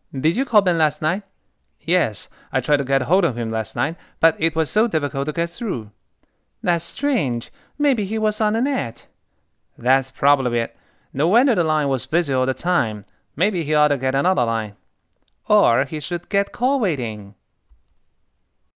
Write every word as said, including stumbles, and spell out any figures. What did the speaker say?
Did you call Ben last night? Yes, I tried to get hold of him last night, but it was so difficult to get through. That's strange. Maybe he was on the net. That's probably it. No wonder the line was busy all the time. Maybe he ought to get another line. Or he should get call waiting.